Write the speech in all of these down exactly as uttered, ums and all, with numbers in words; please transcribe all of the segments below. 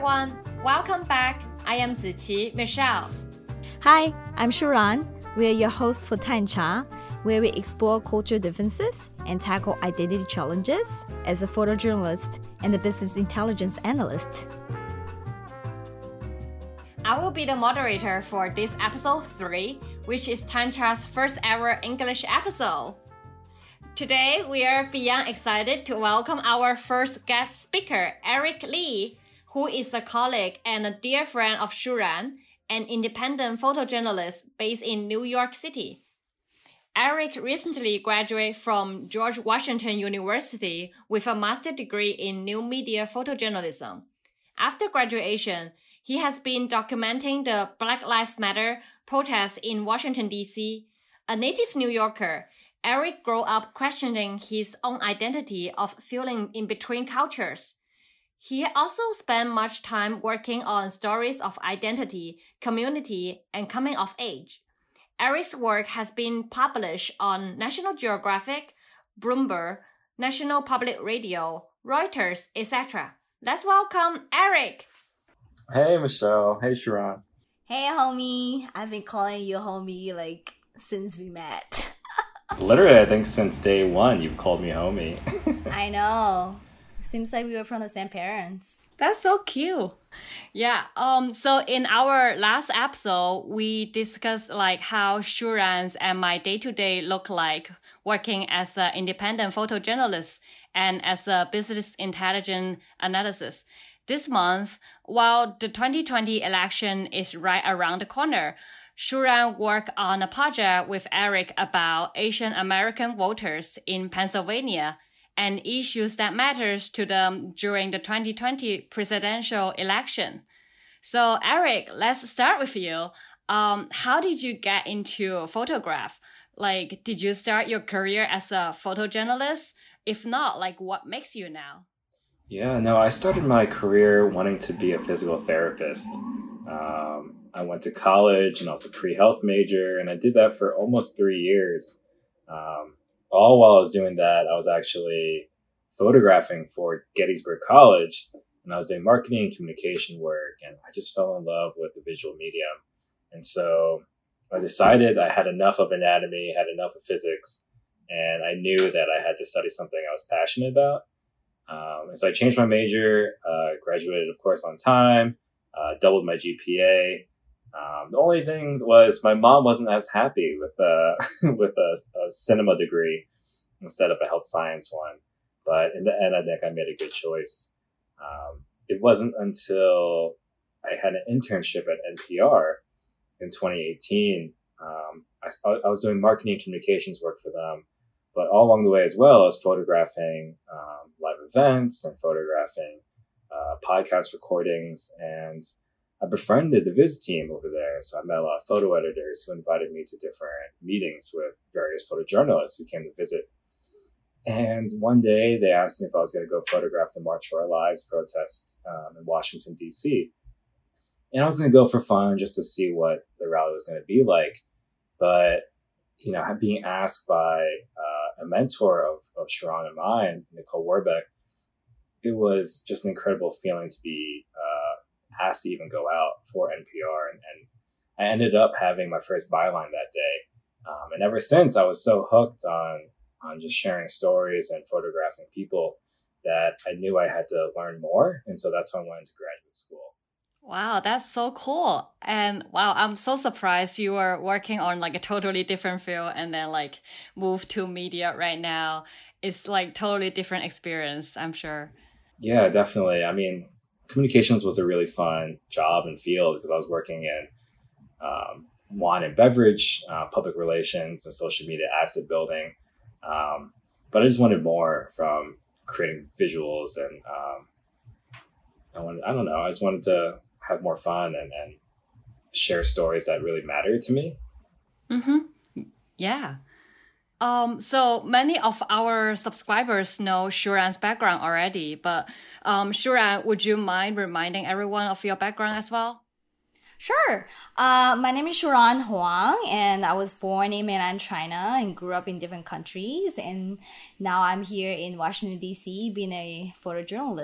everyone, welcome back. I am Ziqi, Michelle. Hi, I'm Shuran. We are your hosts for Tancha, where we explore cultural differences and tackle identity challenges as a photojournalist and a business intelligence analyst. I will be the moderator for this episode three, which is Tancha's first ever English episode. Today, we are beyond excited to welcome our first guest speaker, Eric Lee, who is a colleague and a dear friend of Shuran, an independent photojournalist based in New York City. Eric recently graduated from George Washington University with a master's degree in new media photojournalism. After graduation, he has been documenting the Black Lives Matter protests in Washington, D C. A native New Yorker, Eric grew up questioning his own identity of feeling in between cultures. He also spent much time working on stories of identity, community, and coming of age. Eric's work has been published on National Geographic, Bloomberg, National Public Radio, Reuters, et cetera. Let's welcome Eric. Hey, Michelle. Hey, Sharon. Hey, homie. I've been calling you homie like since we met. Literally, I think since day one, you've called me homie. I know. Seems like we were from the same parents. That's so cute. Yeah. Um. So in our last episode, we discussed like how Shuran's and my day-to-day look like working as an independent photojournalist and as a business intelligence analysis. This month, while the twenty twenty election is right around the corner, Shuran worked on a project with Eric about Asian American voters in Pennsylvania and issues that matters to them during the twenty twenty presidential election. So Eric, let's start with you. Um, how did you get into photograph? Like, did you start your career as a photojournalist? If not, like, what makes you now? Yeah, no, I started my career wanting to be a physical therapist. Um, I went to college and I was a pre-health major, and I did that for almost three years. Um, all while I was doing that, I was actually photographing for Gettysburg College, and I was doing marketing and communication work, and I just fell in love with the visual medium. And so I decided I had enough of anatomy, had enough of physics, and I knew that I had to study something I was passionate about. Um, and so I changed my major, uh, graduated, of course, on time, uh, doubled my G P A. Um, the only thing was my mom wasn't as happy with uh, with a, a cinema degree instead of a health science one. But in the end, I think I made a good choice. Um, it wasn't until I had an internship at N P R in twenty eighteen. Um, I, I was doing marketing and communications work for them. But all along the way as well, I was photographing um, live events and photographing uh, podcast recordings. And I befriended the Viz team over there. So I met a lot of photo editors who invited me to different meetings with various photojournalists who came to visit. And one day they asked me if I was going to go photograph the March for Our Lives protest um, in Washington, D C. And I was going to go for fun just to see what the rally was going to be like. But you know, being asked by uh, a mentor of, of Sharon and mine, Nicole Warbeck, it was just an incredible feeling to be uh, asked to even go out for N P R. And, and I ended up having my first byline that day. Um, and ever since, I was so hooked on, on just sharing stories and photographing people that I knew I had to learn more. And so that's when I went into graduate school. Wow, that's so cool. And wow, I'm so surprised you were working on like a totally different field and then like move to media right now. It's like totally different experience, I'm sure. Yeah, definitely. I mean, communications was a really fun job and field because I was working in um, wine and beverage, uh, public relations, and social media asset building. Um, but I just wanted more from creating visuals and um, I wanted, I don't know, I just wanted to have more fun and, and share stories that really mattered to me. Mm-hmm. Yeah. Um, so many of our subscribers know Shuran's background already, but um, Shuran, would you mind reminding everyone of your background as well? Sure. Uh, my name is Shuran Huang, and I was born in mainland China and grew up in different countries. And now I'm here in Washington, D C, being a photojournalist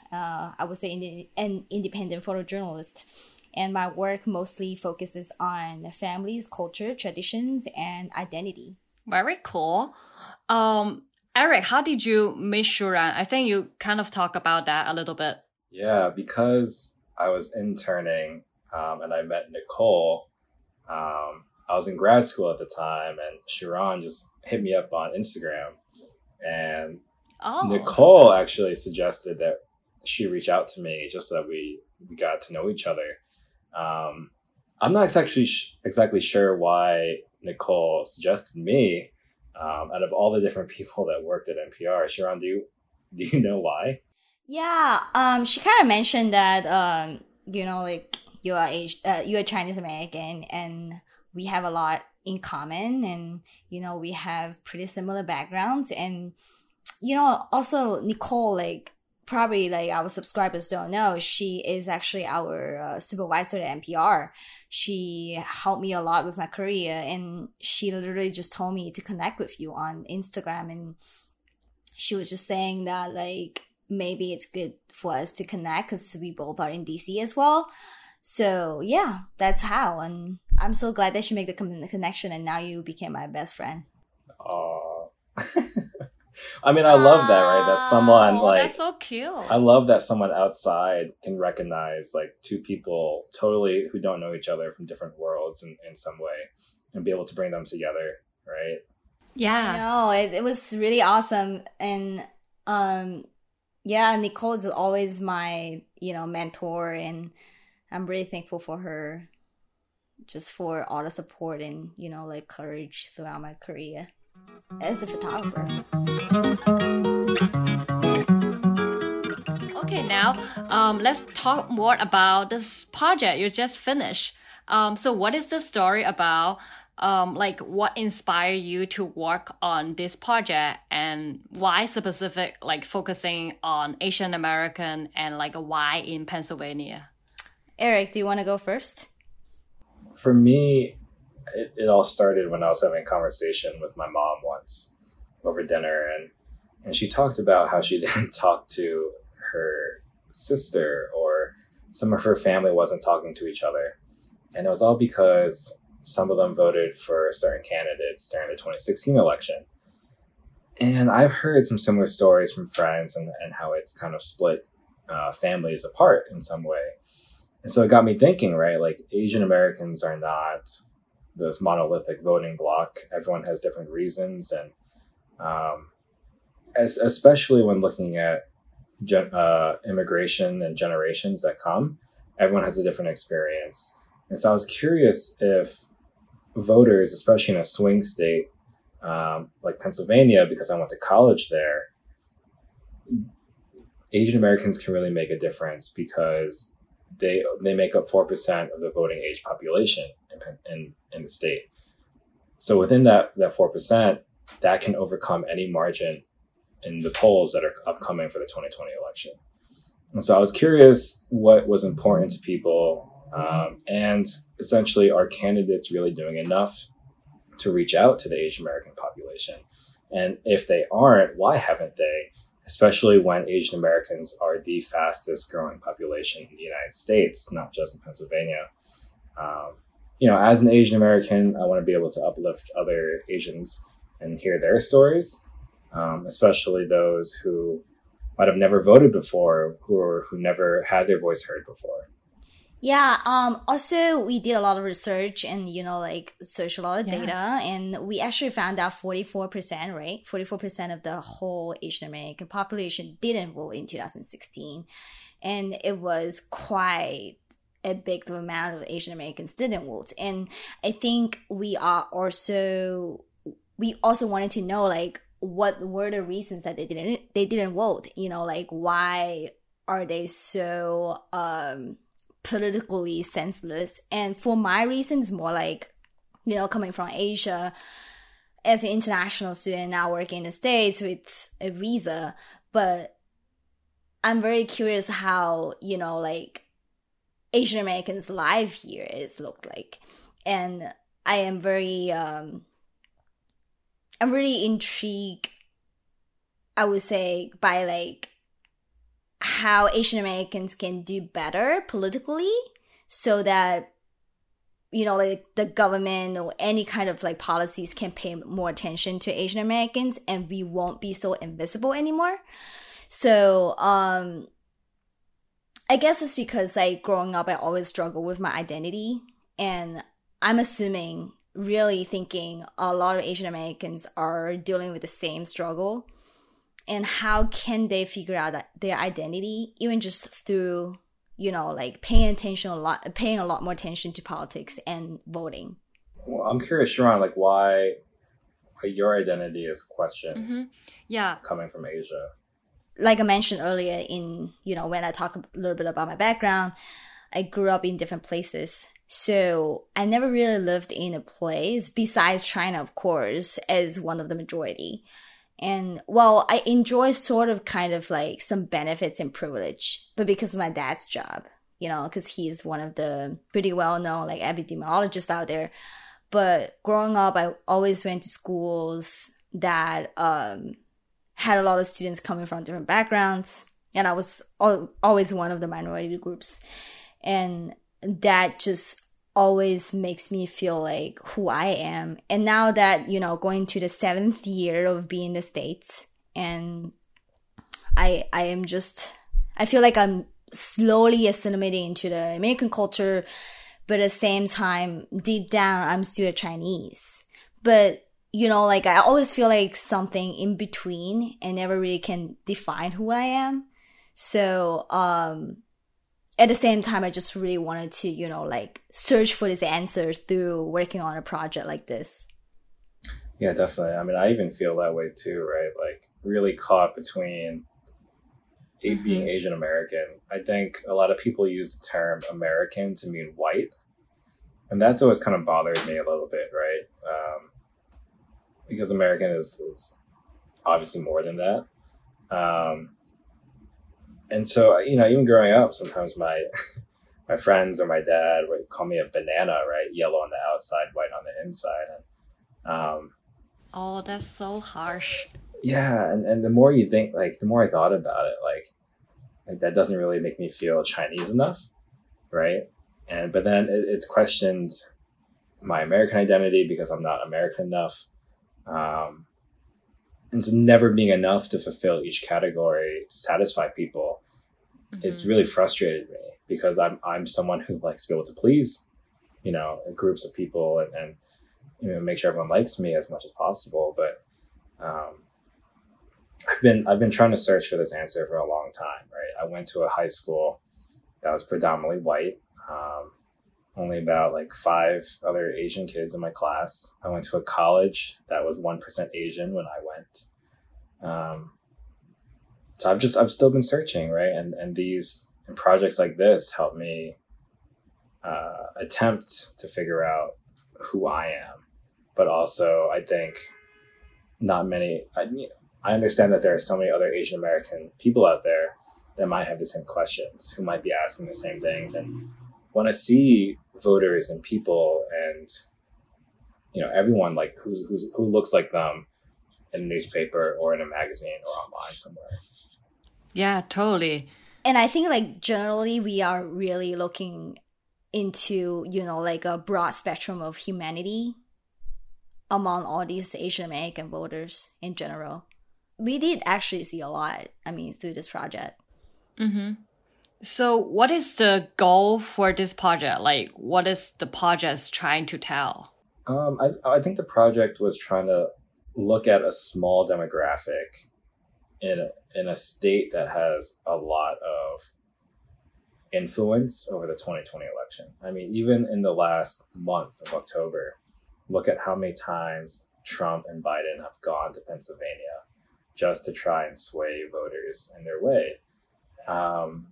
uh, I would say in, an independent photojournalist. And my work mostly focuses on families, culture, traditions, and identity. Very cool. Um, Eric, how did you meet Shuran? I think you kind of talk about that a little bit. Yeah, because I was interning um, and I met Nicole. Um, I was in grad school at the time, and Shuran just hit me up on Instagram. And oh. Nicole actually suggested that she reach out to me just so that we, we got to know each other. Um, I'm not exactly sh- exactly sure why Nicole suggested me. Um, out of all the different people that worked at N P R, Shuran, do you do you know why? Yeah, um, she kind of mentioned that um, you know, like you are Asian, uh, you are Chinese American, and we have a lot in common, and you know, we have pretty similar backgrounds, and you know, also Nicole, like. Probably like our subscribers don't know, she is actually our uh, supervisor at N P R. She helped me a lot with my career, and she literally just told me to connect with you on Instagram. And she was just saying that like maybe it's good for us to connect because we both are in D C as well. So yeah, that's how. And I'm so glad that she made the con- connection, and now you became my best friend. Oh. I mean, I love that, right? That someone oh, like that's so cute. I love that someone outside can recognize like two people totally who don't know each other from different worlds in, in some way and be able to bring them together, right? Yeah. No, it, it was really awesome. And um yeah, Nicole is always my, you know, mentor, and I'm really thankful for her just for all the support and, you know, like courage throughout my career as a photographer. Okay, now um, let's talk more about this project you just finished. Um, so what is the story about? Um, like what inspired you to work on this project, and why specific, like focusing on Asian American, and like why in Pennsylvania? Eric, do you want to go first? For me, it, it all started when I was having a conversation with my mom once over dinner, and and she talked about how she didn't talk to her sister, or some of her family wasn't talking to each other. And it was all because some of them voted for certain candidates during the twenty sixteen election. And I've heard some similar stories from friends, and, and how it's kind of split uh, families apart in some way. And so it got me thinking, right? Like Asian Americans are not this monolithic voting bloc. Everyone has different reasons. And um, as, especially when looking at gen- uh, immigration and generations that come, everyone has a different experience. And so I was curious if voters, especially in a swing state um, like Pennsylvania, because I went to college there, Asian Americans can really make a difference because they they make up four percent of the voting age population in, in, in the state. So within that, that four percent, that can overcome any margin in the polls that are upcoming for the twenty twenty election. And so I was curious what was important to people. Um, and essentially, are candidates really doing enough to reach out to the Asian American population? And if they aren't, why haven't they? Especially when Asian Americans are the fastest growing population in the United States, not just in Pennsylvania. Um, you know, as an Asian American, I want to be able to uplift other Asians and hear their stories, um, especially those who might have never voted before, who or who never had their voice heard before. Yeah, um, also we did a lot of research and, you know, like searched a lot of Yeah. data, and we actually found out forty-four percent, right? forty-four percent of the whole Asian American population didn't vote in two thousand sixteen. And it was quite a big amount of Asian Americans didn't vote. And I think we are also, we also wanted to know, like, what were the reasons that they didn't, they didn't vote? You know, like, why are they so, um, politically senseless? And for my reasons, more like, you know, coming from Asia as an international student now working in the States with a visa, but I'm very curious how, you know, like Asian Americans' life here is looked like. And I am very um I'm really intrigued, I would say, by like how Asian Americans can do better politically so that, you know, like the government or any kind of like policies can pay more attention to Asian Americans and we won't be so invisible anymore. So, um, I guess it's because like growing up, I always struggled with my identity, and I'm assuming, really thinking a lot of Asian Americans are dealing with the same struggle. And how can they figure out that their identity, even just through, you know, like paying attention a lot, paying a lot more attention to politics and voting? Well, I'm curious, Sharon, like why, why your identity is questioned Mm-hmm. Yeah. coming from Asia. Like I mentioned earlier in, you know, when I talk a little bit about my background, I grew up in different places. So I never really lived in a place besides China, of course, as one of the majority. And while I enjoy sort of kind of like some benefits and privilege, but because of my dad's job, you know, because he's one of the pretty well-known like epidemiologists out there. But growing up, I always went to schools that um, had a lot of students coming from different backgrounds. And I was al- always one of the minority groups. And that just always makes me feel like who I am. And now that, you know, going to the seventh year of being in the States, and I I am just, I feel like I'm slowly assimilating into the American culture, but at the same time, deep down, I'm still a Chinese. But, you know, like I always feel like something in between and never really can define who I am. So, um, at the same time, I just really wanted to, you know, like search for this answer through working on a project like this. Yeah, definitely. I mean, I even feel that way too, right? Like really caught between mm-hmm. being Asian American. I think a lot of people use the term American to mean white. And that's always kind of bothered me a little bit, right? Um, because American is, is obviously more than that. Um, And so, you know, even growing up, sometimes my my friends or my dad would call me a banana, right? Yellow on the outside, white on the inside. And, um, oh, that's so harsh. Yeah, and, and the more you think, like, the more I thought about it, like, like that doesn't really make me feel Chinese enough, right? And but then it, it's questioned my American identity because I'm not American enough. Um, And so never being enough to fulfill each category to satisfy people, mm-hmm. it's really frustrated me because I'm I'm someone who likes to be able to please, you know, groups of people and, and you know make sure everyone likes me as much as possible. But um, I've been I've been trying to search for this answer for a long time. Right, I went to a high school that was predominantly white. Um, only about like five other Asian kids in my class. I went to a college that was one percent Asian when I went. Um, so I've just, I've still been searching, right? And, and these and projects like this help me uh, attempt to figure out who I am. But also, I think not many, I, I understand that there are so many other Asian American people out there that might have the same questions, who might be asking the same things. And when I see voters and people and, you know, everyone like who's, who's, who looks like them in a newspaper or in a magazine or online somewhere. Yeah, totally. And I think like generally we are really looking into, you know, like a broad spectrum of humanity among all these Asian American voters in general. We did actually see a lot, I mean, through this project. Mm-hmm. So what is the goal for this project? Like, what is the project trying to tell? Um, I, I think the project was trying to look at a small demographic in a, in a state that has a lot of influence over the twenty twenty election. I mean, even in the last month of October, look at how many times Trump and Biden have gone to Pennsylvania just to try and sway voters in their way. Um,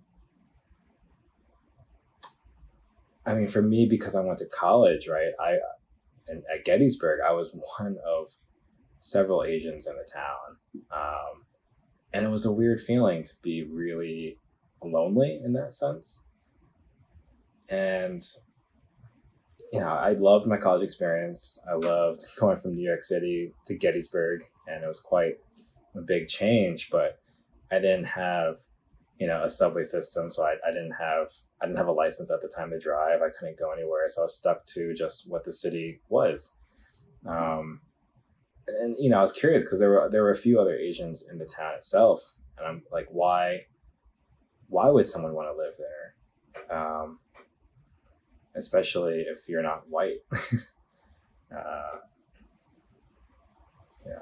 I mean, for me, because I went to college, right, I and at Gettysburg, I was one of several Asians in the town. Um, and it was a weird feeling to be really lonely in that sense. And, you know, I loved my college experience. I loved going from New York City to Gettysburg, and it was quite a big change, but I didn't have you know, a subway system. So I, I didn't have, I didn't have a license at the time to drive. I couldn't go anywhere. So I was stuck to just what the city was. Um, and, you know, I was curious because there were, there were a few other Asians in the town itself. And I'm like, why, why would someone want to live there? Um, especially if you're not white. uh, yeah.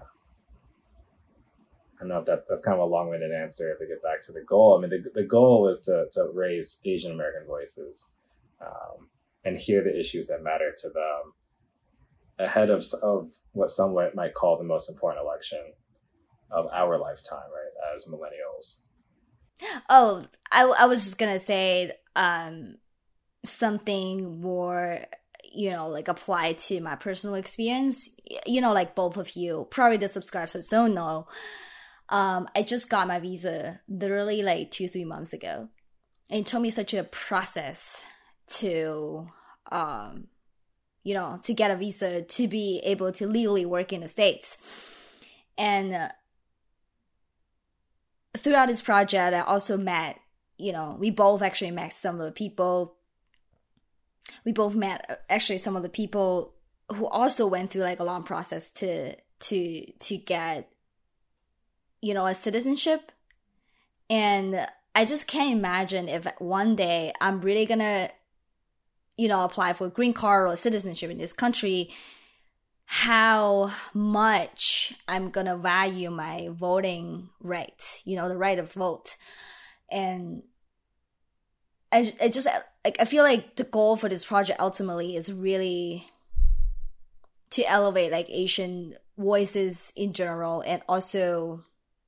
I don't know if that, that's kind of a long-winded answer to get back to the goal. I mean, the, the goal was to, to raise Asian American voices um, and hear the issues that matter to them ahead of, of what some might call the most important election of our lifetime, right, as millennials. Oh, I, I was just going to say um, something more, you know, like apply to my personal experience. You know, like both of you, probably the subscribers don't know. Um, I just got my visa literally like two, three months ago. And it took me such a process to, um, you know, to get a visa to be able to legally work in the States. And uh, throughout this project, I also met, you know, we both actually met some of the people. We both met actually some of the people who also went through like a long process to, to, to get, you know, a citizenship. And I just can't imagine if one day I'm really gonna, you know, apply for a green card or citizenship in this country, how much I'm gonna value my voting right, you know, the right of vote. And I, I just, like, I feel like the goal for this project ultimately is really to elevate like Asian voices in general, and also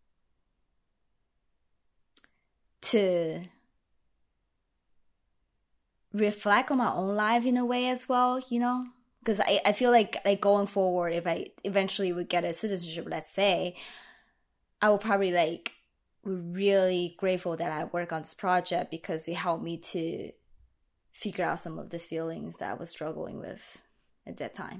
to reflect on my own life in a way as well, you know? Because I, I feel like like going forward, if I eventually would get a citizenship, let's say, I will probably like really grateful that I work on this project because it helped me to figure out some of the feelings that I was struggling with at that time.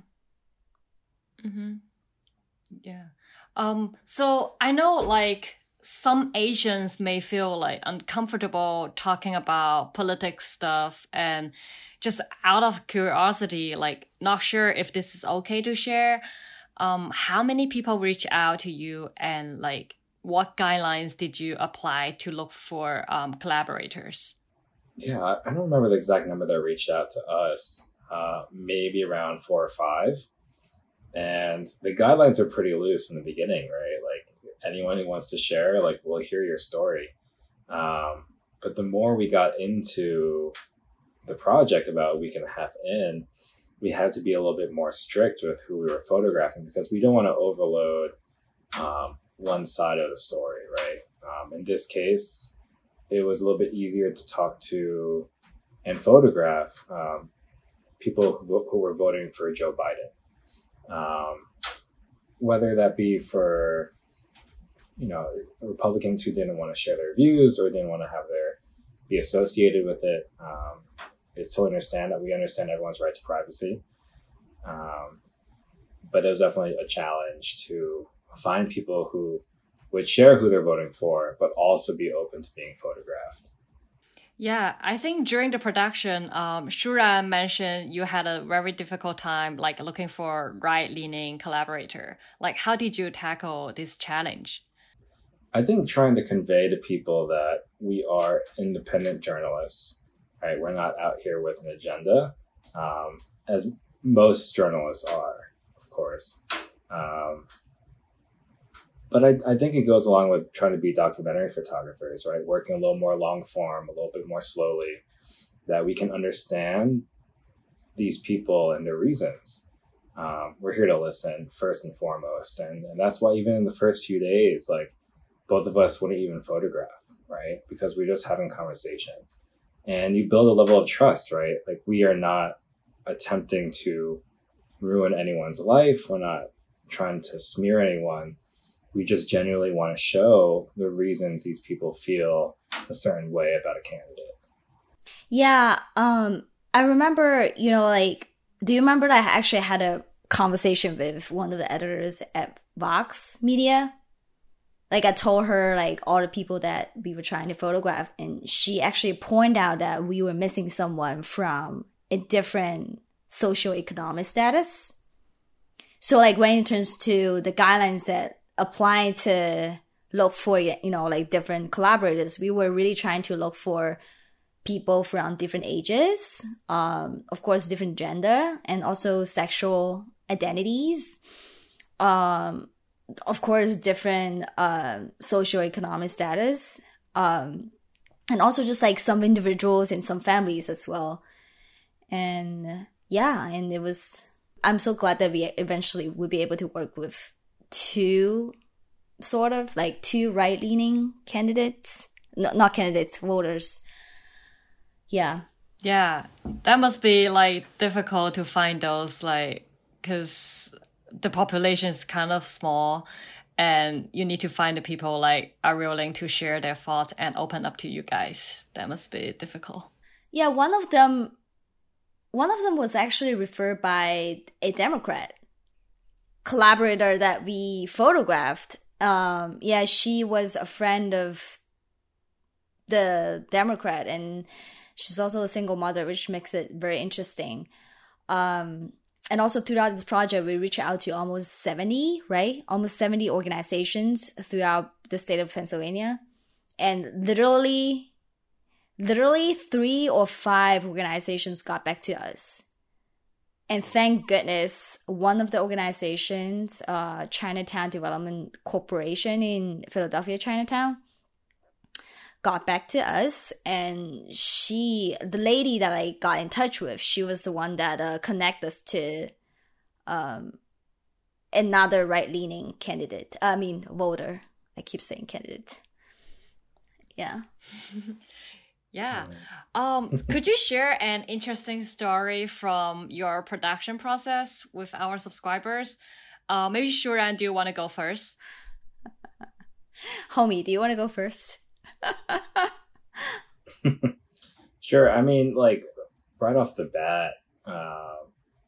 Mm-hmm. Yeah. Um. So I know like some Asians may feel like uncomfortable talking about politics stuff, and just out of curiosity, like not sure if this is okay to share. Um, how many people reach out to you, and like what guidelines did you apply to look for um, collaborators? Yeah, I don't remember the exact number that reached out to us. Uh, maybe around four or five. And the guidelines are pretty loose in the beginning, right? Like anyone who wants to share, like, we'll hear your story. Um, but the more we got into the project, about a week and a half in, we had to be a little bit more strict with who we were photographing because we don't want to overload um, one side of the story, right? Um, in this case, it was a little bit easier to talk to and photograph um, people who, who were voting for Joe Biden. Um, whether that be for, you know, Republicans who didn't want to share their views or didn't want to have their be associated with it. Um, it's totally understand that we understand everyone's right to privacy. Um, but it was definitely a challenge to find people who would share who they're voting for, but also be open to being photographed. Yeah, I think during the production, um, Shuran mentioned you had a very difficult time, like looking for right-leaning collaborator. Like, how did you tackle this challenge? I think trying to convey to people that we are independent journalists, right? We're not out here with an agenda, um, as most journalists are, of course. Um, But I, I think it goes along with trying to be documentary photographers, right? Working a little more long form, a little bit more slowly, that we can understand these people and their reasons. Um, we're here to listen first and foremost. And, and that's why even in the first few days, like both of us wouldn't even photograph, right? Because we're just having conversation. And you build a level of trust, right? Like we are not attempting to ruin anyone's life. We're not trying to smear anyone. We just genuinely want to show the reasons these people feel a certain way about a candidate. Yeah, um, I remember, you know, like, do you remember that I actually had a conversation with one of the editors at Vox Media? like I told her like all the people that we were trying to photograph, and she actually pointed out that we were missing someone from a different socioeconomic status. So like when it turns to the guidelines that apply to look for, you know, like different collaborators, we were really trying to look for people from different ages, um, of course, different gender, and also sexual identities. Um, of course, different uh, socioeconomic status, um, and also just like some individuals and some families as well. And yeah, and it was, I'm so glad that we eventually would be able to work with two sort of like two right-leaning candidates, no, not candidates, voters. Yeah. Yeah, that must be like difficult to find those, like, because the population is kind of small and you need to find the people like are willing to share their thoughts and open up to you guys. That must be difficult. Yeah, one of them one of them was actually referred by a Democrat collaborator that we photographed. Um, yeah, she was a friend of the Democrat, and she's also a single mother, which makes it very interesting. Um, and also throughout this project, we reached out to almost seventy, right? Almost seventy organizations throughout the state of Pennsylvania. And literally, literally three or five organizations got back to us. And thank goodness, one of the organizations, uh, Chinatown Development Corporation in Philadelphia, Chinatown, got back to us. And she, the lady that I got in touch with, she was the one that uh, connected us to um, another right-leaning candidate. I mean, voter. I keep saying candidate. Yeah. Yeah. Um, could you share an interesting story from your production process with our subscribers? Uh, maybe Shuran, do you want to go first? Homie, do you want to go first? Sure. I mean, like, right off the bat, uh,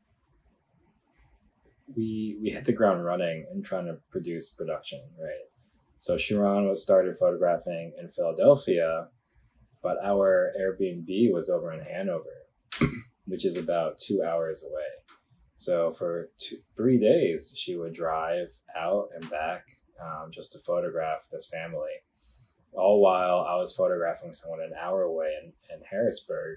we we hit the ground running and trying to produce production, right? So Shuran was started photographing in Philadelphia, but our Airbnb was over in Hanover, which is about two hours away. So for two, three days, she would drive out and back um, just to photograph this family, all while I was photographing someone an hour away in, in Harrisburg.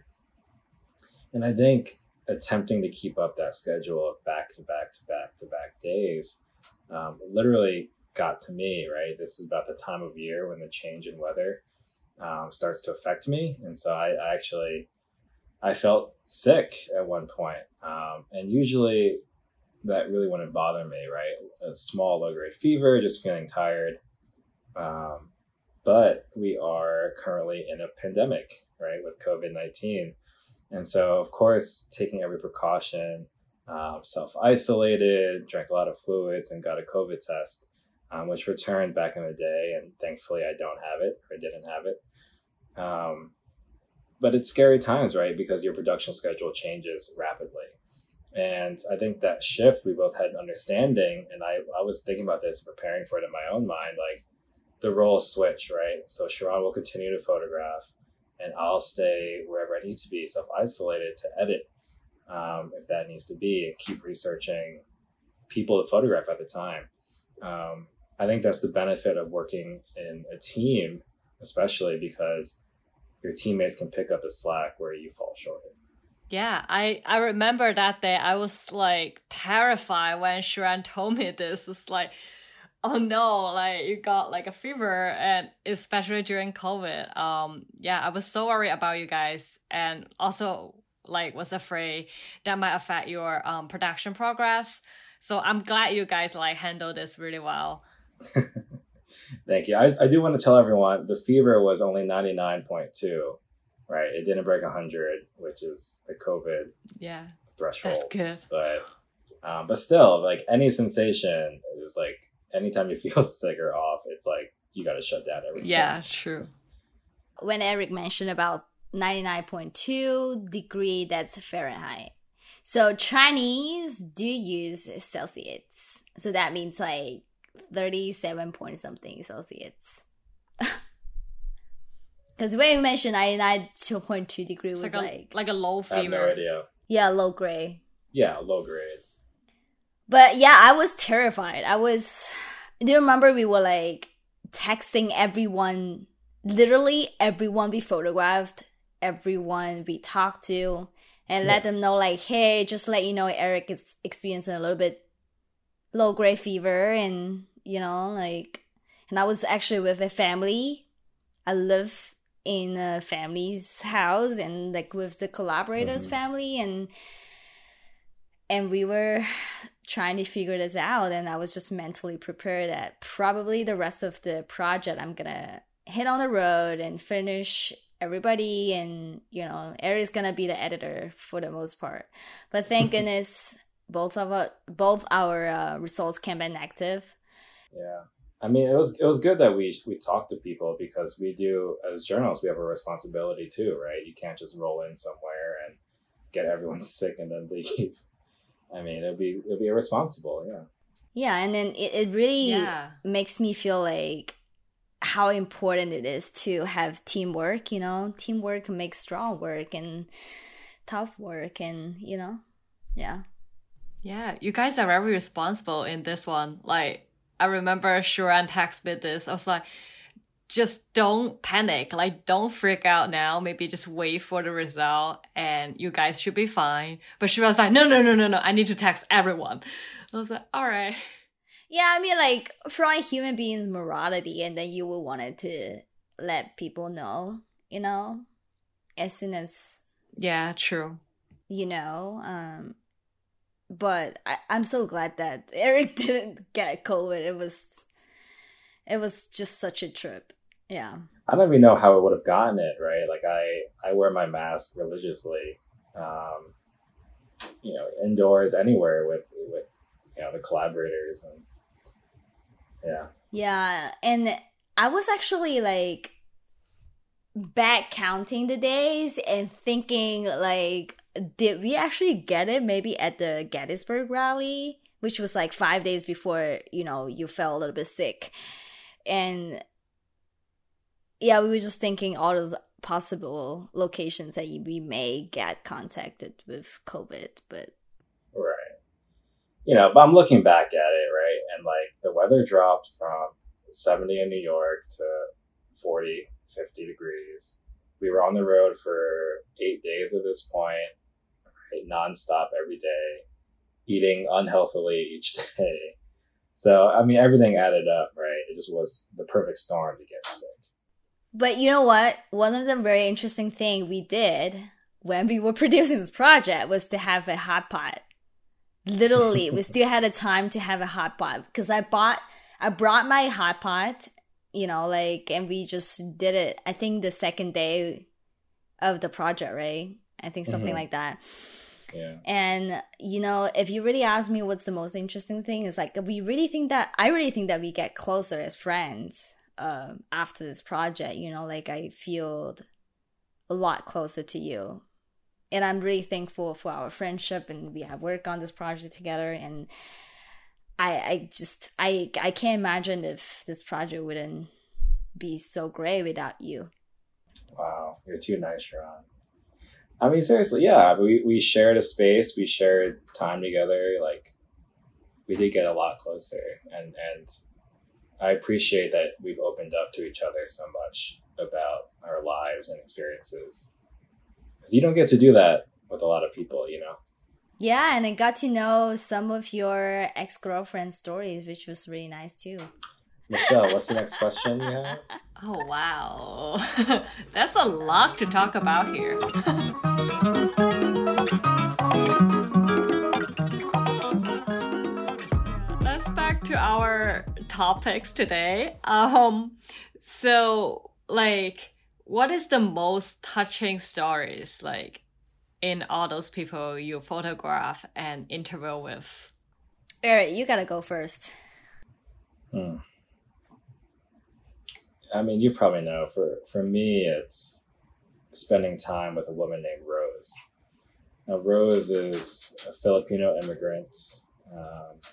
And I think attempting to keep up that schedule of back to back to back to back days um, literally got to me, right? This is about the time of year when the change in weather Um, starts to affect me. And so I, I actually, I felt sick at one point. Um, and usually that really wouldn't bother me, right? A small low-grade fever, just feeling tired. Um, but we are currently in a pandemic, right, with COVID nineteen. And so, of course, taking every precaution, um, self-isolated, drank a lot of fluids, and got a COVID test, um, which returned back in the day. And thankfully, I don't have it, or didn't have it. Um, but it's scary times, right? Because your production schedule changes rapidly. And I think that shift, we both had an understanding, and I, I was thinking about this, preparing for it in my own mind, like the roles switch, right? So Shuran will continue to photograph, and I'll stay wherever I need to be, self-isolated, to edit um, if that needs to be, and keep researching people to photograph at the time. Um, I think that's the benefit of working in a team, especially because your teammates can pick up the slack where you fall short. Yeah, I, I remember that day I was like terrified when Shuran told me this. It's like, oh no, like you got like a fever, and especially during COVID. Um, yeah, I was so worried about you guys, and also like was afraid that might affect your um production progress. So I'm glad you guys like handled this really well. Thank you. I, I do want to tell everyone the fever was only ninety-nine point two, right? It didn't break one hundred, which is the COVID yeah threshold. That's good. But um, but still, like any sensation is like anytime you feel sick or off, it's like you got to shut down everything. Yeah, true. When Eric mentioned about ninety-nine point two degree, that's Fahrenheit. So Chinese do use Celsius. So that means like thirty-seven point something Celsius. Because when you mentioned ninety-nine point two degree was like, like, a, like a low I have no fever. idea. Yeah, low grade. Yeah, low grade. But yeah, I was terrified. I was, do you remember we were like texting everyone, literally everyone we photographed, everyone we talked to, and Yeah. let them know like, hey, just let you know Eric is experiencing a little bit low grade fever, and you know, like, and I was actually with a family. I live in a family's house and like with the collaborators' Mhm. family, and and we were trying to figure this out, and I was just mentally prepared that probably the rest of the project I'm gonna hit on the road and finish everybody, and you know, Eric's gonna be the editor for the most part. But thank goodness both of our both our uh, results came back negative. Yeah. I mean, it was it was good that we we talked to people, because we do, as journalists, we have a responsibility too, right? You can't just roll in somewhere and get everyone sick and then leave. I mean, it'll be it'll be irresponsible, yeah. Yeah, and then it, it really Yeah. makes me feel like how important it is to have teamwork, you know? Teamwork makes strong work and tough work, and, you know? Yeah. Yeah, you guys are very responsible in this one. Like, I remember Shuran texted me this. I was like, just don't panic. Like, don't freak out now. Maybe just wait for the result and you guys should be fine. But she was like, no, no, no, no, no. I need to text everyone. I was like, all right. Yeah, I mean, like, from a human being's morality, and then you will want it to let people know, you know? As soon as, Yeah, true. you know, um... But I, I'm so glad that Eric didn't get COVID. It was, it was just such a trip. Yeah. I don't even know how I would have gotten it, right? Like I, I wear my mask religiously, um, you know, indoors, anywhere with, with, you know, the collaborators, and yeah. Yeah, and I was actually like back counting the days and thinking like, did we actually get it maybe at the Gettysburg rally, which was like five days before, you know, you felt a little bit sick. And yeah, we were just thinking all those possible locations that we may get contacted with COVID, but Right. You know, but I'm looking back at it, right? And like the weather dropped from seventy in New York to forty, fifty degrees. We were on the road for eight days at this point, right? Nonstop every day, eating unhealthily each day. So, I mean, everything added up, right? It just was the perfect storm to get sick. But you know what? One of the very interesting thing we did when we were producing this project was to have a hot pot. Literally, we still had a time to have a hot pot because I bought, I brought my hot pot, you know, like, and we just did it. I think the second day of the project, right? I think something Mhm. like that. Yeah. And, you know, if you really ask me what's the most interesting thing, is like, we really think that, I really think that we get closer as friends uh, after this project, you know, like I feel a lot closer to you. And I'm really thankful for our friendship, and we have worked on this project together. And I, I just, I, I can't imagine if this project wouldn't be so great without you. Wow, you're too nice, Sharon. I mean, seriously, yeah, we, we shared a space, we shared time together, like, we did get a lot closer, and, and I appreciate that we've opened up to each other so much about our lives and experiences. Because you don't get to do that with a lot of people, you know? Yeah, and I got to know some of your ex-girlfriend stories, which was really nice too. Michelle, what's the next question you have? Oh, wow. That's a lot to talk about here. Let's back to our topics today. Um, so, like, what is the most touching stories, like, in all those people you photograph and interview with? Eric, you gotta go first. Hmm. I mean, you probably know, for, for me, it's spending time with a woman named Rose. Now, Rose is a Filipino immigrant um,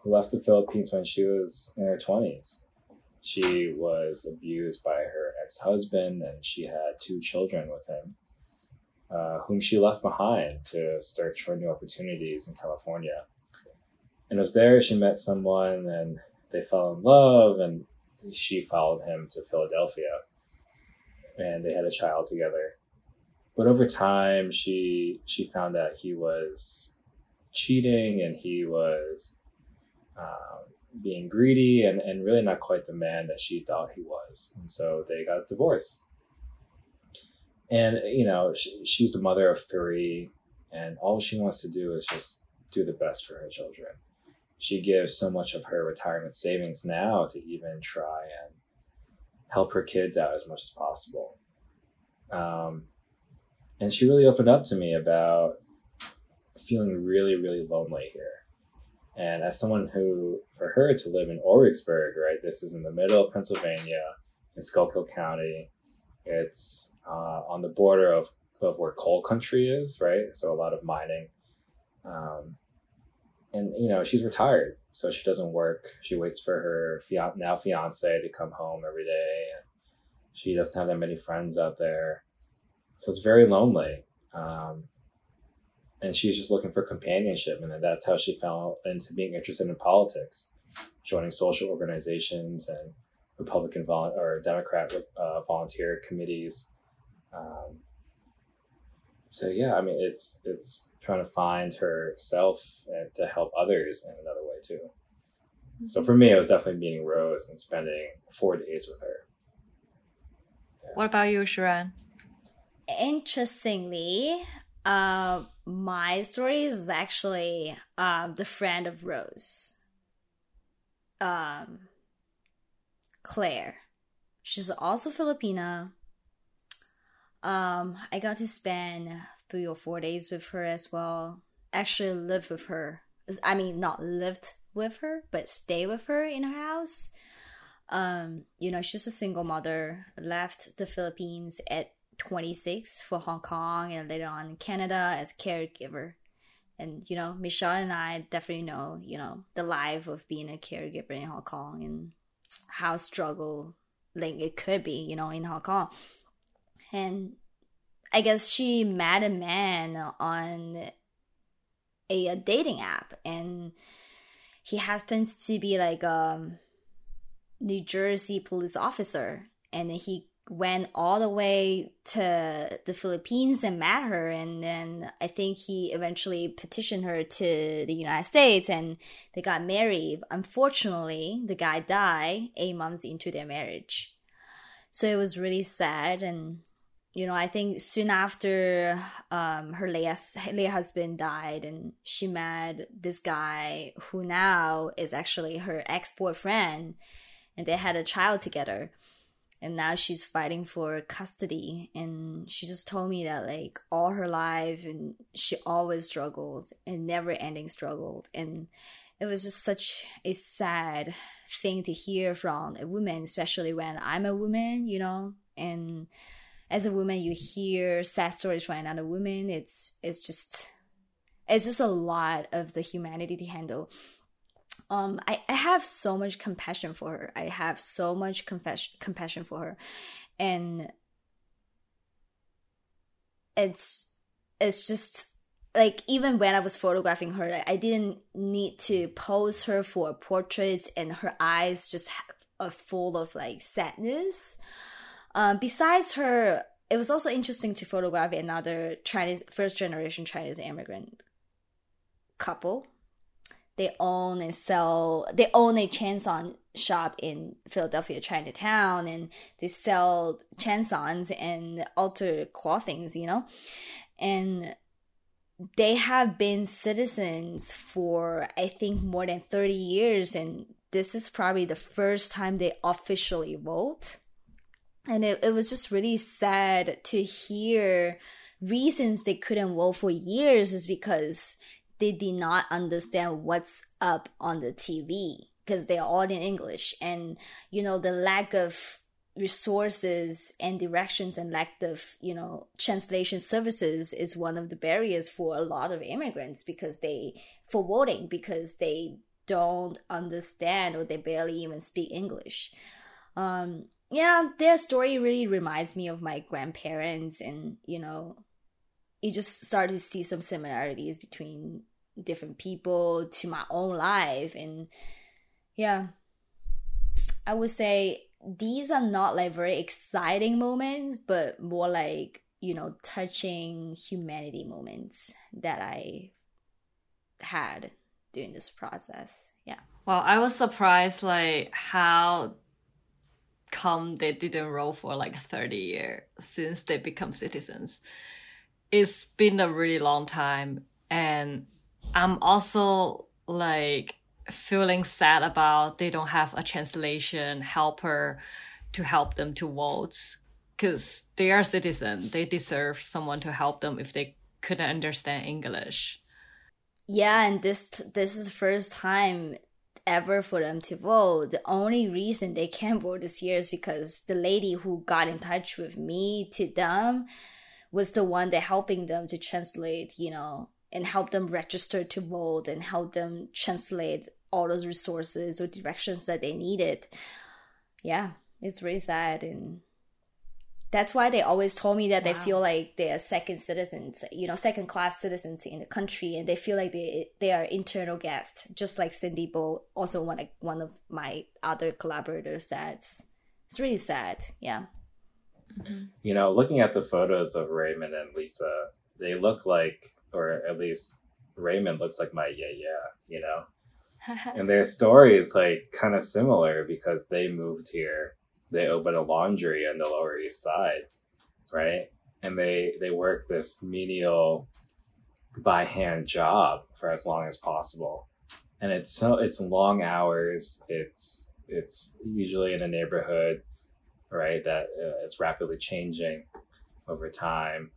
who left the Philippines when she was in her twenties. She was abused by her ex-husband, and she had two children with him, uh, whom she left behind to search for new opportunities in California. And it was there she met someone, and they fell in love, and she followed him to Philadelphia, and they had a child together. But over time, she she found out he was cheating, and he was um, being greedy, and, and really not quite the man that she thought he was. And so they got a divorce. And, you know, she, she's a mother of three, and all she wants to do is just do the best for her children. She gives so much of her retirement savings now to even try and help her kids out as much as possible. Um, and she really opened up to me about feeling really, really lonely here. And as someone who, for her to live in Origsburg, right, this is in the middle of Pennsylvania, in Schuylkill County. It's uh, on the border of, of where coal country is, right? So a lot of mining. Um, and, you know, she's retired, so she doesn't work. She waits for her fian- now fiance to come home every day. And she doesn't have that many friends out there. So it's very lonely. Um, and she's just looking for companionship. And then that's how she fell into being interested in politics, joining social organizations and Republican vol- or Democrat uh, volunteer committees. Um, so yeah, I mean, it's it's trying to find herself and to help others in another way too. Mm-hmm. So for me, it was definitely meeting Rose and spending four days with her. Yeah. What about you, Sharon? Interestingly, uh, my story is actually um, the friend of Rose. Um. Claire. She's also Filipina. Um, I got to spend three or four days with her as well. Actually lived with her. I mean, not lived with her, but stay with her in her house. Um, you know, she's a single mother, left the Philippines at twenty-six for Hong Kong and later on in Canada as a caregiver. And, you know, Michelle and I definitely know, you know, the life of being a caregiver in Hong Kong and how struggling it could be, you know, in Hong Kong. And I guess she met a man on a, a dating app, and he happens to be like a New Jersey police officer, and he went all the way to the Philippines and met her, and then I think he eventually petitioned her to the United States, and they got married. Unfortunately, the guy died eight months into their marriage. So it was really sad. And, you know, I think soon after um, her late, late husband died, and she met this guy who now is actually her ex-boyfriend, and they had a child together. And now she's fighting for custody. And she just told me that, like, all her life, and she always struggled and never ending struggled. And it was just such a sad thing to hear from a woman, especially when I'm a woman, you know. And as a woman, you hear sad stories from another woman. It's it's just it's just a lot of the humanity to handle. Um, I, I have so much compassion for her. I have so much compassion compassion for her, and it's it's just like, even when I was photographing her, I didn't need to pose her for portraits, and her eyes just are full of like sadness. Um, besides her, it was also interesting to photograph another Chinese first generation Chinese immigrant couple. They own and sell, they own a chanson shop in Philadelphia, Chinatown, and they sell chansons and altar clothings, you know? And they have been citizens for, I think, more than thirty years, and this is probably the first time they officially vote. And it, it was just really sad to hear reasons they couldn't vote for years is because they did not understand what's up on the T V, because they're all in English. And, you know, the lack of resources and directions and lack of, you know, translation services is one of the barriers for a lot of immigrants, because they, for voting, because they don't understand or they barely even speak English. Um, yeah, their story really reminds me of my grandparents, and, you know, you just start to see some similarities between different people to my own life. And yeah, I would say these are not like very exciting moments, but more like, you know, touching humanity moments that I had during this process. Yeah. Well, I was surprised like how come they didn't roll for like thirty years since they become citizens. It's been a really long time, and I'm also like feeling sad about they don't have a translation helper to help them to vote, because they are citizens. They deserve someone to help them if they couldn't understand English. Yeah, and this this is the first time ever for them to vote. The only reason they can't vote this year is because the lady who got in touch with me to them was the one that helping them to translate, you know, and help them register to vote and help them translate all those resources or directions that they needed. Yeah, it's really sad. And that's why they always told me that wow. they feel like they're second citizens, you know, second class citizens in the country, and they feel like they they are internal guests, just like Cindy Bo, also one of, one of my other collaborators said. It's really sad, yeah. Mm-hmm. You know, looking at the photos of Raymond and Lisa, they look like, or at least Raymond looks like my yeah yeah, you know? And their story is like kind of similar because they moved here. They opened a laundry on the Lower East Side, right? And they they work this menial by hand job for as long as possible. And it's so it's long hours. It's it's usually in a neighborhood, right, that uh, is rapidly changing over time.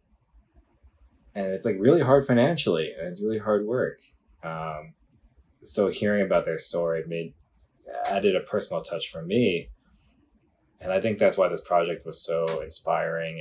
And it's like really hard financially, and it's really hard work. Um, so hearing about their story made added a personal touch for me. And I think that's why this project was so inspiring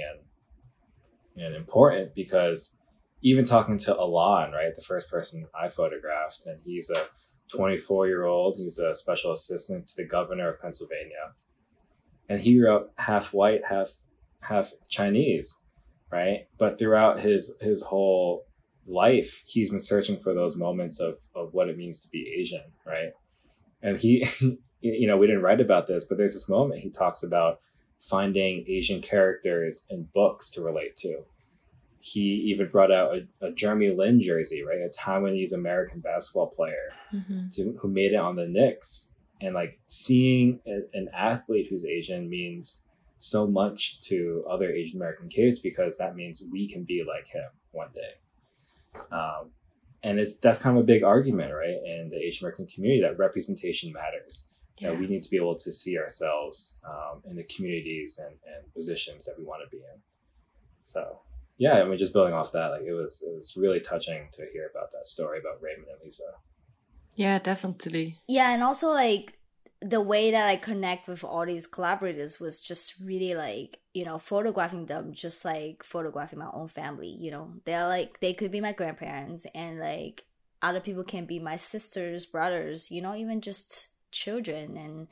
and and important, because even talking to Alon, right, the first person I photographed, and he's a twenty-four-year-old, he's a special assistant to the governor of Pennsylvania. And he grew up half white, half half Chinese, right? But throughout his his whole life, he's been searching for those moments of, of what it means to be Asian, right? And he... you know, we didn't write about this, but there's this moment he talks about finding Asian characters in books to relate to. He even brought out a, a Jeremy Lin jersey, right? A Taiwanese American basketball player mm-hmm. to, who made it on the Knicks. And like seeing a, an athlete who's Asian means so much to other Asian American kids, because that means we can be like him one day. Um, and it's that's kind of a big argument, right, in the Asian American community, that representation matters. Yeah. That we need to be able to see ourselves um, in the communities and, and positions that we want to be in. So, yeah, I mean, just building off that, like it was it was really touching to hear about that story about Raymond and Lisa. Yeah, definitely. Yeah, and also like the way that I connect with all these collaborators was just really like, you know, photographing them just like photographing my own family. You know, they're like, they could be my grandparents, and like other people can be my sisters, brothers, you know, even just children, and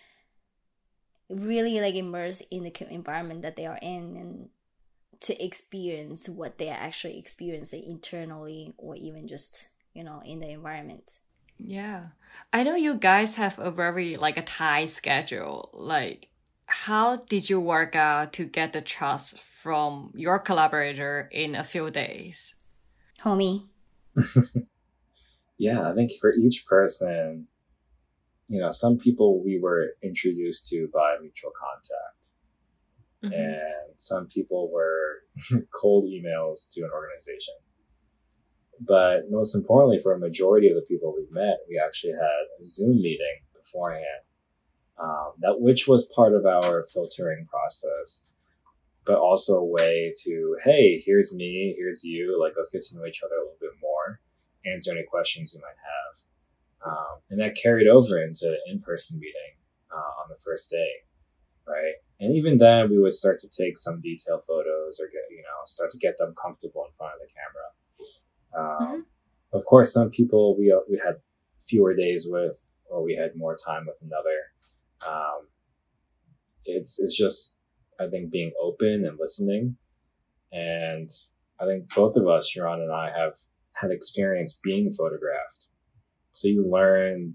really like immerse in the environment that they are in, and to experience what they are actually experiencing internally, or even just, you know, in the environment. Yeah, I know you guys have a very like a tight schedule. Like, how did you work out to get the trust from your collaborator in a few days? Homie. Yeah, I think for each person, you know, some people we were introduced to by mutual contact. Mm-hmm. And some people were cold emails to an organization. But most importantly, for a majority of the people we've met, we actually had a Zoom meeting beforehand, um, that which was part of our filtering process, but also a way to, hey, here's me, here's you, like, let's get to know each other a little bit more, answer any questions you might have. Um, and that carried over into the in-person meeting uh, on the first day, right? And even then, we would start to take some detailed photos or get, you know, start to get them comfortable in front of the camera. Um, mm-hmm. Of course, some people we we had fewer days with, or we had more time with another. Um, it's it's just, I think, being open and listening. And I think both of us, Sharon and I, have had experience being photographed. So you learn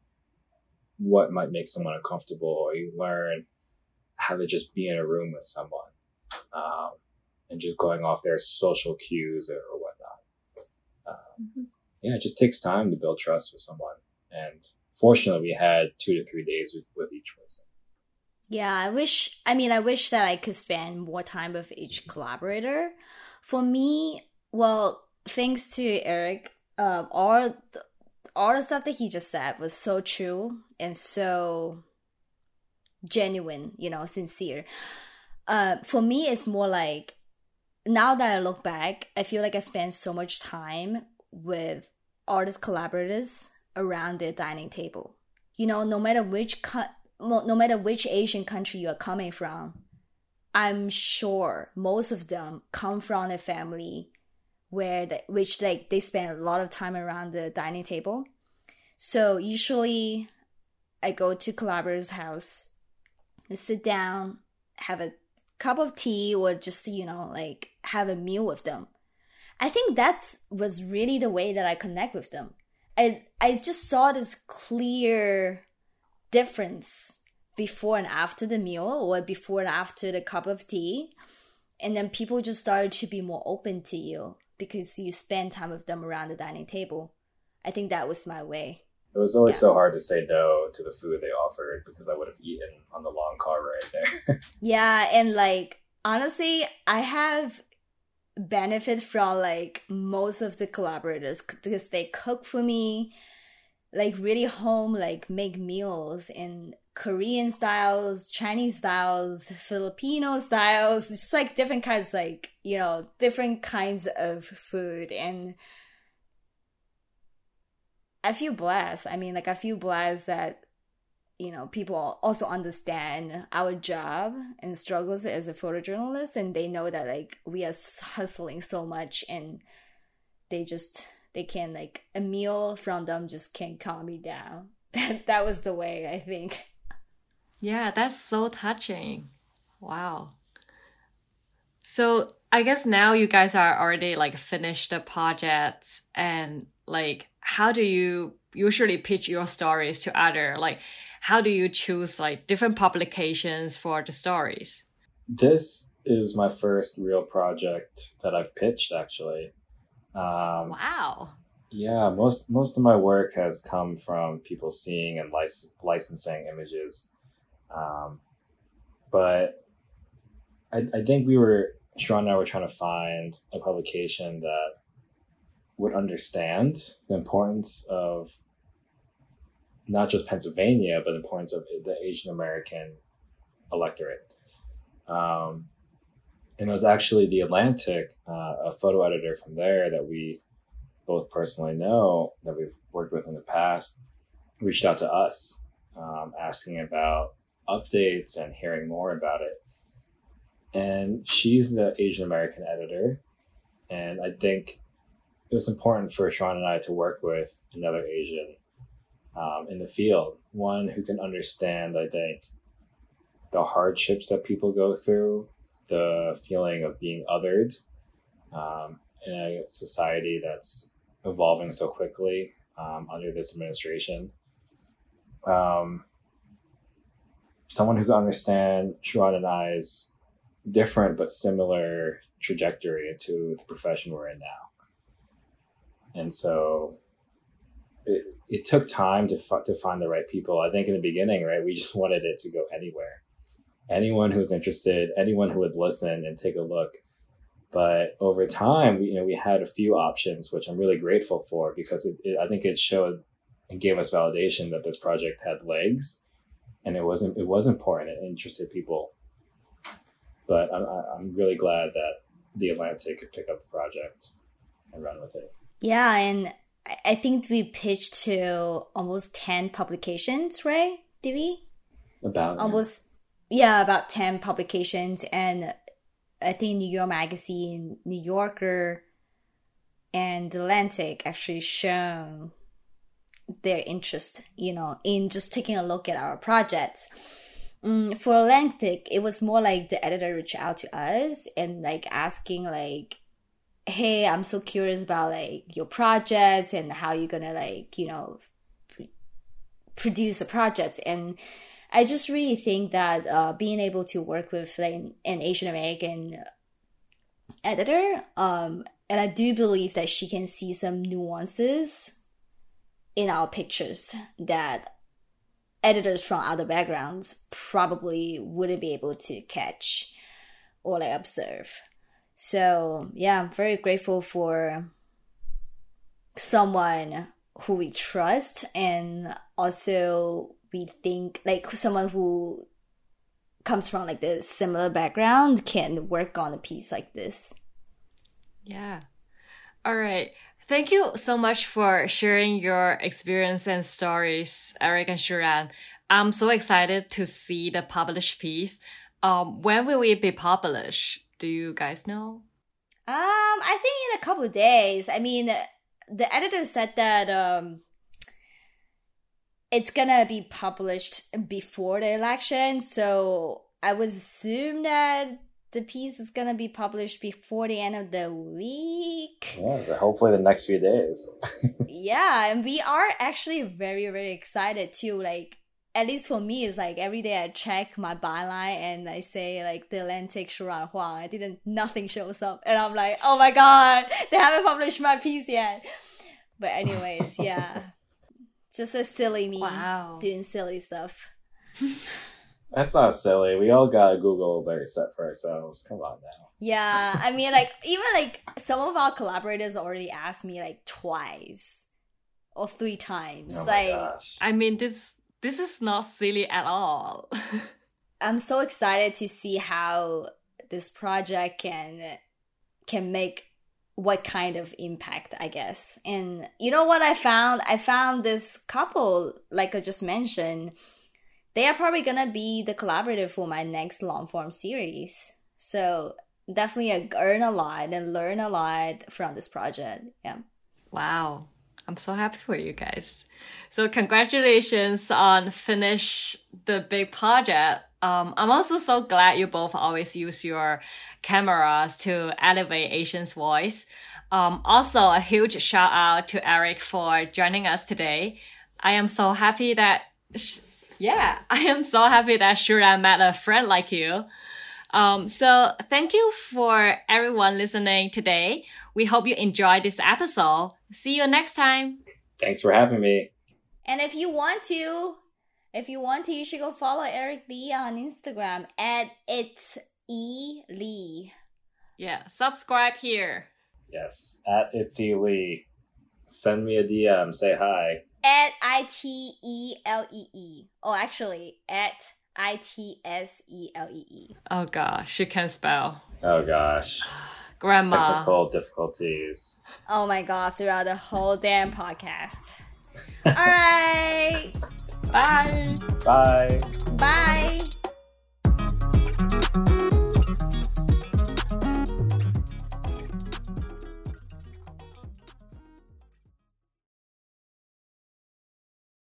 what might make someone uncomfortable, or you learn how to just be in a room with someone, um, and just going off their social cues or, or whatnot. Um, mm-hmm. Yeah, it just takes time to build trust with someone. And fortunately, we had two to three days with, with each person. Yeah, I wish, I mean, I wish that I could spend more time with each collaborator. For me, well, thanks to Eric, um, all, all the stuff that he just said was so true and so genuine, you know, sincere. Uh, for me, it's more like, now that I look back, I feel like I spent so much time with artist collaborators around their dining table. You know, no matter which co- no matter which Asian country you are coming from, I'm sure most of them come from a family where they, which like they spend a lot of time around the dining table. So usually I go to collaborator's house, I sit down, have a cup of tea, or just, you know, like have a meal with them. I think that's was really the way that I connect with them. I I just saw this clear difference before and after the meal, or before and after the cup of tea. And then people just started to be more open to you because you spend time with them around the dining table. I think that was my way. It was always yeah. so hard to say no to the food they offered because I would have eaten on the long car ride there. Yeah, and like, honestly, I have benefit from like most of the collaborators because they cook for me, like really home, like make meals in Korean styles, Chinese styles, Filipino styles, just like different kinds, like, you know, different kinds of food. And I feel blessed. I mean, like, I feel blessed that, you know, people also understand our job and struggles as a photojournalist, and they know that, like, we are hustling so much, and they just, they can, like, a meal from them just can't calm me down. That, that was the way, I think. Yeah, that's so touching. Wow. So I guess now you guys are already like finished the projects, and like, how do you usually pitch your stories to other, like, how do you choose like different publications for the stories? This is my first real project that I've pitched, actually. Um, wow. Yeah, most most of my work has come from people seeing and lic- licensing images. Um, but I, I think we were, Sharon and I were trying to find a publication that would understand the importance of not just Pennsylvania, but the importance of the Asian American electorate. Um, and it was actually The Atlantic, uh, a photo editor from there that we both personally know, that we've worked with in the past, reached out to us, um, asking about updates and hearing more about it. And she's the Asian American editor. And I think it was important for Sharon and I to work with another Asian um, in the field, one who can understand, I think, the hardships that people go through, the feeling of being othered um, in a society that's evolving so quickly um, under this administration. Um, someone who can understand Sharon and I's different but similar trajectory into the profession we're in now. And so it, it took time to f- to find the right people. I think in the beginning, right, we just wanted it to go anywhere. Anyone who's interested, anyone who would listen and take a look. But over time, we, you know, we had a few options, which I'm really grateful for, because it, it, I think it showed and gave us validation that this project had legs, and it wasn't it was important and interested people. But I'm I'm really glad that The Atlantic could pick up the project and run with it. Yeah, and I think we pitched to almost ten publications, right? Did we? About almost yeah. yeah, about ten publications, and I think New York Magazine, New Yorker, and The Atlantic actually shown their interest, you know, in just taking a look at our projects. Um, for Atlantic, it was more like the editor reached out to us and like asking like, hey, I'm so curious about like your projects and how you're gonna like, you know, pr- produce a project. And I just really think that uh, being able to work with like an Asian American editor, um, and I do believe that she can see some nuances in our pictures that editors from other backgrounds probably wouldn't be able to catch or like observe. So yeah, I'm very grateful for someone who we trust, and also we think like someone who comes from like the similar background can work on a piece like this. Yeah. All right. Thank you so much for sharing your experience and stories, Eric and Shuran. I'm so excited to see the published piece. Um, when will it be published? Do you guys know? Um, I think in a couple of days. I mean, the editor said that um, it's gonna be published before the election, so I would assume that the piece is gonna be published before the end of the week. Yeah, hopefully the next few days. Yeah, and we are actually very, very excited too. Like, at least for me, it's like every day I check my byline and I say like the Atlantic Shuran Huang. I didn't, nothing shows up, and I'm like, oh my god, they haven't published my piece yet. But anyways, yeah, just a silly me Wow. doing silly stuff. That's not silly. We all got a Google alert set for ourselves. Come on now. Yeah, I mean, like, even, like, some of our collaborators already asked me, like, twice or three times. Oh my like, gosh. I mean, this this is not silly at all. I'm so excited to see how this project can can make what kind of impact, I guess. And you know what I found? I found this couple, like I just mentioned, they are probably gonna be the collaborator for my next long form series. So definitely earn a lot and learn a lot from this project. Yeah. Wow. I'm so happy for you guys. So congratulations on finish the big project. Um, I'm also so glad you both always use your cameras to elevate Asian's voice. Um, also, a huge shout out to Eric for joining us today. I am so happy that... Sh- Yeah, I am so happy that Shuran met a friend like you. Um, so thank you for everyone listening today. We hope you enjoyed this episode. See you next time. Thanks for having me. And if you want to, if you want to, you should go follow Eric Lee on Instagram at It's E Lee. Yeah, subscribe here. Yes, at Itzy Lee. Send me a D M. Say hi. At I T E L E E. Oh, actually, at I T S E L E E. Oh gosh, she can spell. Oh gosh. Grandma. Technical difficulties. Oh my god, throughout the whole damn podcast. All right. Bye. Bye. Bye.